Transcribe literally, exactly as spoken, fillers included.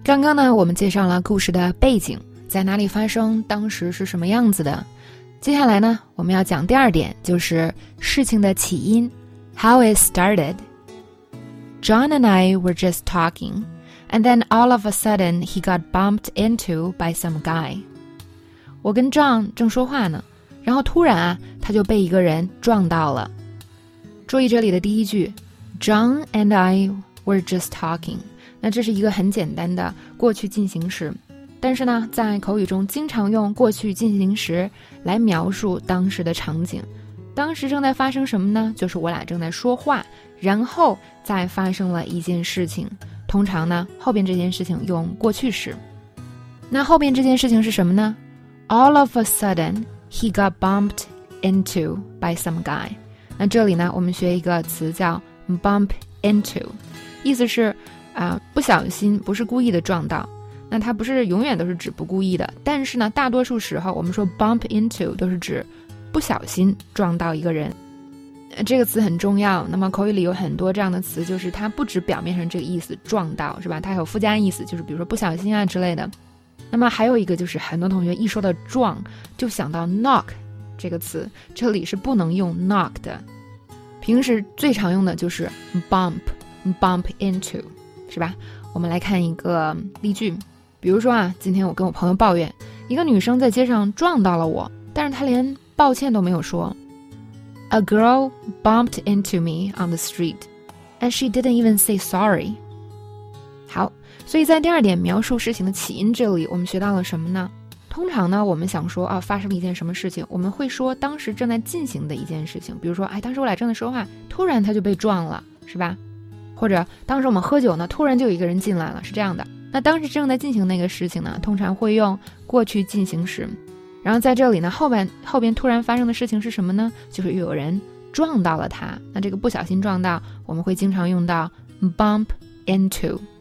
刚刚呢，我们介绍了故事的背景，在哪里发生，当时是什么样子的。接下来呢，我们要讲第二点，就是事情的起因 How it started. John and I were just talking, and then all of a sudden he got bumped into by some guy. 我跟 John 正说话呢，然后突然啊，他就被一个人撞到了。注意这里的第一句 John and I were just talking. 那这是一个很简单的过去进行时，但是呢，在口语中经常用过去进行时来描述当时的场景。当时正在发生什么呢？就是我俩正在说话，然后再发生了一件事情。通常呢，后边这件事情用过去时。那后边这件事情是什么呢？ All of a sudden, he got bumped into by some guy. 那这里呢，我们学一个词叫 bump into， 意思是啊、呃，不小心，不是故意的撞到。那它不是永远都是指不故意的，但是呢，大多数时候我们说 bump into 都是指不小心撞到一个人。这个词很重要，那么口语里有很多这样的词，就是它不止表面上这个意思撞到，是吧？它还有附加意思，就是比如说不小心啊之类的。那么还有一个就是很多同学一说到撞就想到 knock 这个词，这里是不能用 knock 的，平时最常用的就是 bump bump into， 是吧？我们来看一个例句，比如说啊，今天我跟我朋友抱怨，一个女生在街上撞到了我，但是她连抱歉都没有说。A girl bumped into me on the street, and she didn't even say sorry. 好，所以在第二点描述事情的起因这里，我们学到了什么呢？通常呢，我们想说啊，发生了一件什么事情，我们会说当时正在进行的一件事情，比如说，哎，当时我俩正在说话，突然他就被撞了，是吧？或者当时我们喝酒呢，突然就有一个人进来了，是这样的。那当时正在进行那个事情呢，通常会用过去进行时。然后在这里呢，后边后边突然发生的事情是什么呢？就是又有人撞到了他。那这个不小心撞到，我们会经常用到 bump into。